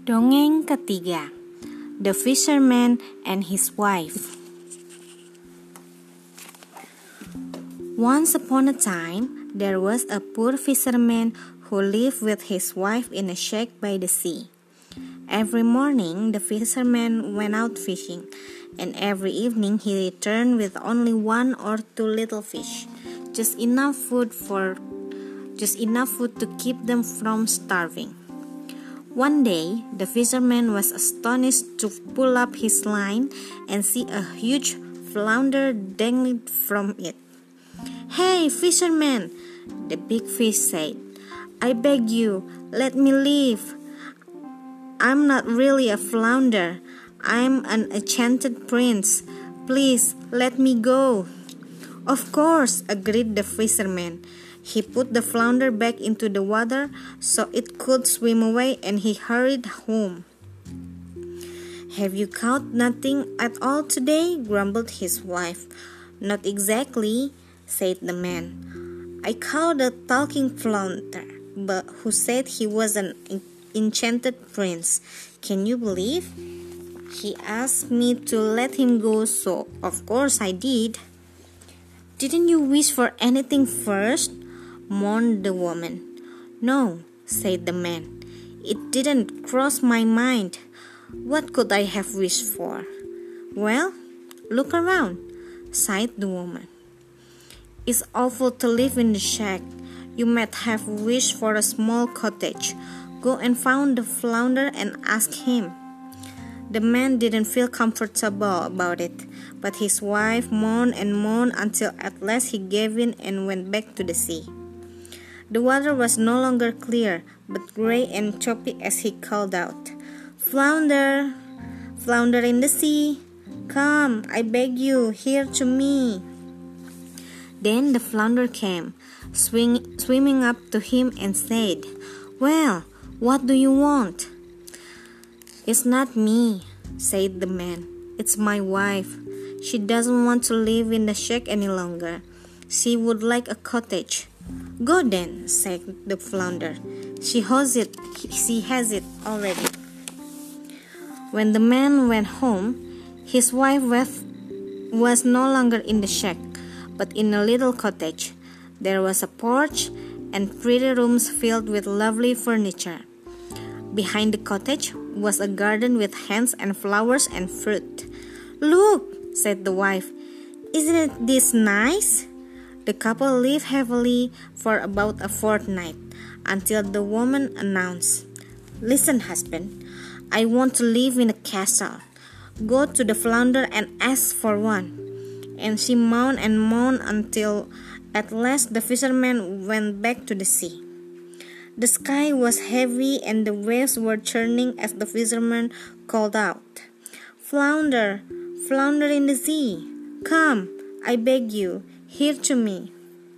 Dongeng ketiga, The Fisherman and His Wife. Once upon a time, there was a poor fisherman who lived with his wife in a shack by the sea. Every morning, the fisherman went out fishing, and every evening he returned with only one or two little fish, just enough food to keep them from starving. One day, the fisherman was astonished to pull up his line and see a huge flounder dangling from it. "Hey, fisherman," the big fish said, "I beg you, let me leave. I'm not really a flounder. I'm an enchanted prince. Please, let me go." "Of course," agreed the fisherman. He put the flounder back into the water so it could swim away, and he hurried home. "Have you caught nothing at all today?" grumbled his wife. "Not exactly," said the man. "I caught a talking flounder, but who said he was an enchanted prince. Can you believe? He asked me to let him go, so of course I did." "Didn't you wish for anything first?" mourned the woman. "No," said the man. "It didn't cross my mind. What could I have wished for?" "Well, look around," sighed the woman. "It's awful to live in the shack. You might have wished for a small cottage. Go and find the flounder and ask him." The man didn't feel comfortable about it, but his wife moaned and moaned until at last he gave in and went back to the sea. The water was no longer clear, but gray and choppy as he called out, "Flounder, flounder in the sea, come, I beg you, here to me." Then the flounder came, swimming up to him and said, "Well, what do you want?" "It's not me," said the man. "It's my wife. She doesn't want to live in the shack any longer. She would like a cottage." "Go then," said the flounder. She has it already." When the man went home, his wife was no longer in the shack, but in a little cottage. There was a porch and pretty rooms filled with lovely furniture. Behind the cottage was a garden with hens and flowers and fruit. "Look," said the wife, "isn't this nice?" The couple lived happily for about a fortnight, until the woman announced, "Listen, husband, I want to live in a castle. Go to the flounder and ask for one." And she moaned and moaned until at last the fisherman went back to the sea. The sky was heavy and the waves were churning as the fisherman called out, "Flounder, flounder in the sea, come, I beg you, here to me."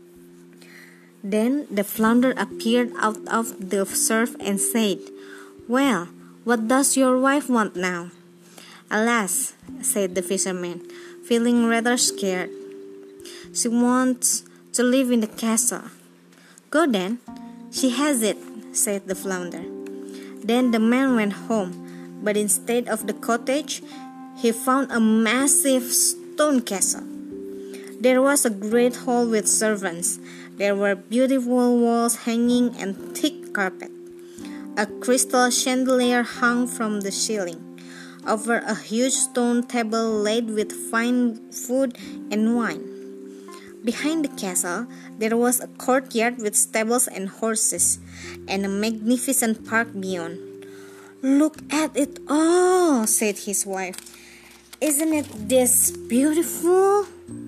Then the flounder appeared out of the surf and said, "Well, what does your wife want now?" "Alas," said the fisherman, feeling rather scared, "she wants to live in the castle." "Go then, she has it," said the flounder. Then the man went home, but instead of the cottage, he found a massive stone castle. There was a great hall with servants. There were beautiful walls hanging and thick carpet. A crystal chandelier hung from the ceiling. Over a huge stone table laid with fine food and wine. Behind the castle, there was a courtyard with stables and horses, and a magnificent park beyond. "Look at it all," said his wife. "Isn't it this beautiful?"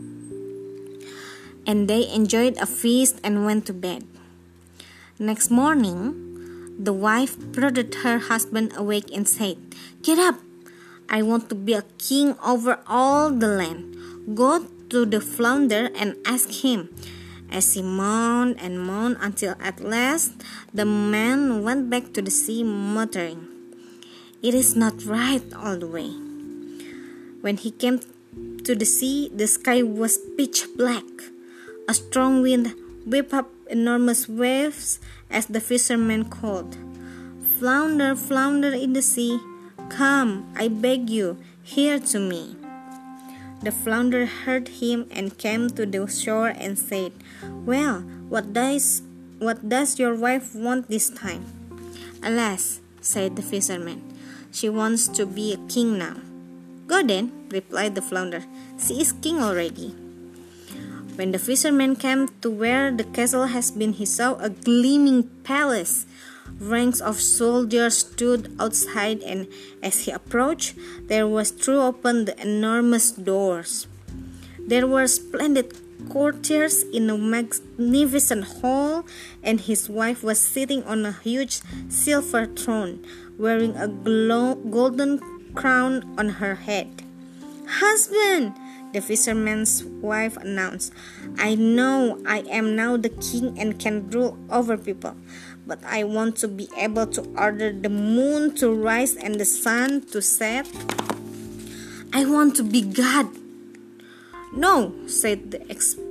And they enjoyed a feast and went to bed. Next morning, the wife prodded her husband awake and said, "Get up! I want to be a king over all the land. Go to the flounder and ask him." As he moaned and moaned until at last the man went back to the sea muttering, "It is not right all the way." When he came to the sea, the sky was pitch black. A strong wind whipped up enormous waves as the fisherman called, Flounder, flounder in the sea, come, I beg you, here to me. The flounder heard him and came to the shore and said, well, what does your wife want this time? Alas, said the fisherman, she wants to be a king now. Go then, replied the flounder, she is king already. When the fisherman came to where the castle has been, he saw a gleaming palace. Ranks of soldiers stood outside, and as he approached, there was thrown open the enormous doors. There were splendid courtiers in a magnificent hall, and his wife was sitting on a huge silver throne, wearing a golden crown on her head. Husband, the fisherman's wife announced, I know I am now the king and can rule over people, but I want to be able to order the moon to rise and the sun to set. I want to be God. No, said the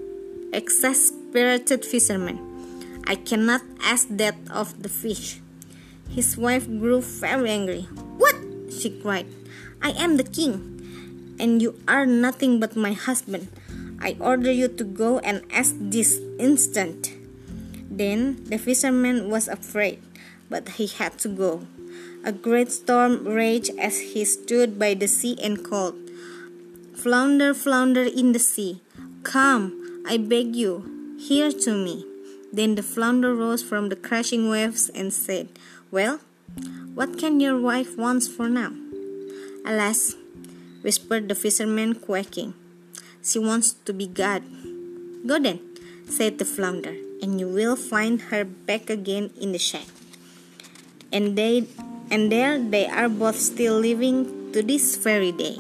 exasperated fisherman. I cannot ask that of the fish. His wife grew very angry. What? She cried. I am the king, and you are nothing but my husband. I order you to go and ask this instant. Then the fisherman was afraid, but he had to go. A great storm raged as he stood by the sea and called, Flounder, flounder in the sea, come, I beg you, here to me. Then the flounder rose from the crashing waves and said, well, what can your wife want for now? Alas, whispered the fisherman, quaking, she wants to be God. Go then, said the flounder, and you will find her back again in the shack. And there they are both still living to this very day.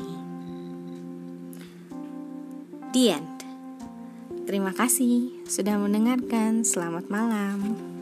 The end. Terima kasih sudah mendengarkan. Selamat malam.